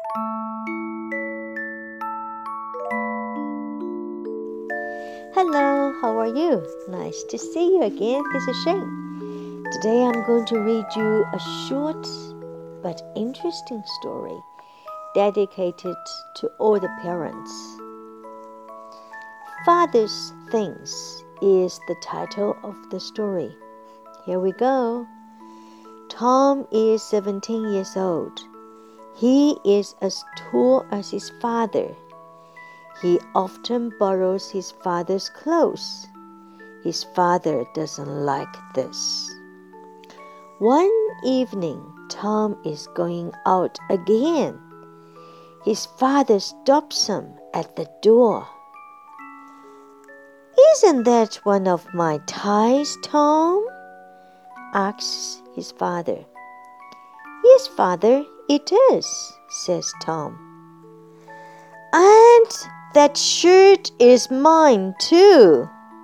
Hello, how are you? Nice to see you again. This is Shane. Today I'm going to read you a short but interesting story dedicated to all the parents. Father's Things is the title of the story. Here we go. Tom is 17 years old. He is as tall as his father. He often borrows his father's clothes. His father doesn't like this. One evening, Tom is going out again. His father stops him at the door. "Isn't that one of my ties, Tom?" asks his father. "Yes, father, it is," says Tom. "And that shirt is mine too."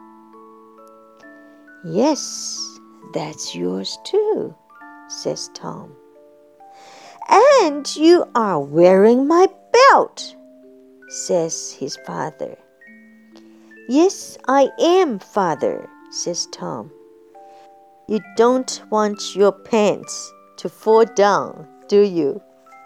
"Yes, that's yours too," says Tom. "And you are wearing my belt," says his father. "Yes, I am, father," says Tom. "You don't want your pants to fall down, do you?"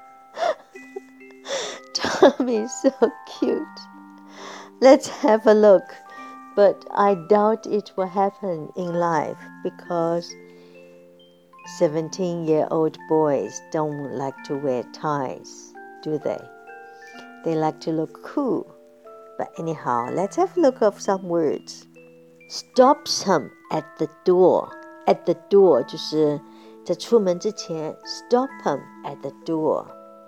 Tom is so cute. Let's have a look, but I doubt it will happen in life because 17-year-old boys don't like to wear ties, do they? They like to look cool. But anyhow, let's have a look of some words. Stops him at the door. At the door 就是在出门之前 stop him at the door.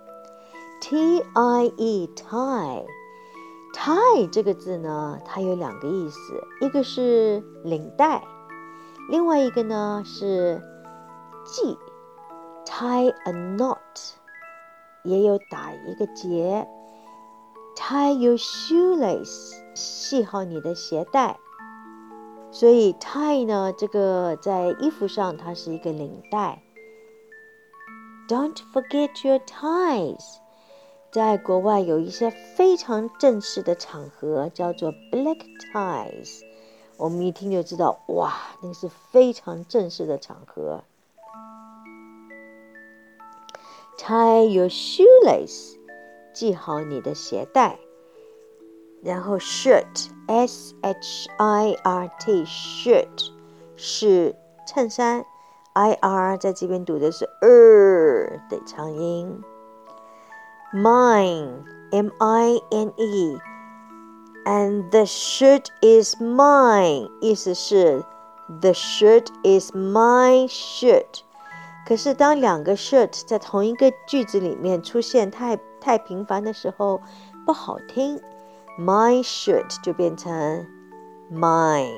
T-I-E, tie. Tie 这个字呢，它有两个意思，一个是领带，另外一个呢是系 tie a knot， 也有打一个结 tie your shoelace， 系好你的鞋带。所以 tie 呢，这个在衣服上它是一个领带。Don't forget your ties。在国外有一些非常正式的场合叫做 black ties， 我们一听就知道，哇，那个是非常正式的场合。Tie your shoelace， 系好你的鞋带。然后 shirt， S-H-I-R-T， shirt 是衬衫 ，I-R 在这边读的是的长音。Mine, M-I-N-E, and the shirt is mine， 意思是 the shirt is my shirt。 可是当两个 shirt 在同一个句子里面出现太频繁的时候不好听， my shirt 就变成 mine。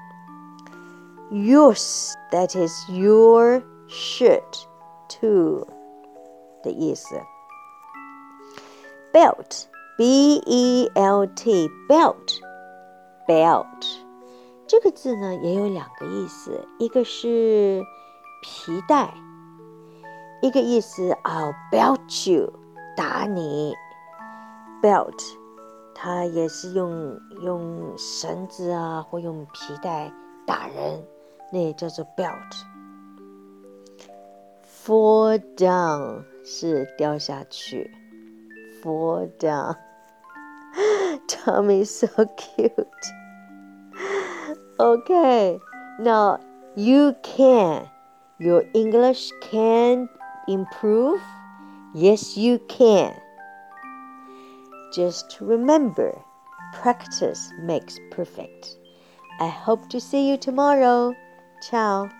Yours, that is your shirt too 的意思。Belt, B-E-L-T, belt, belt 这个字呢也有两个意思，一个是皮带，一个意思 I'll belt you， 打你。 Belt 它也是用绳子啊或用皮带打人，那也叫做 belt。 Fall down 是掉下去，Fall down. Tom is so cute. Okay, now you can. Your English can improve. Yes, you can. Just remember, practice makes perfect. I hope to see you tomorrow. Ciao.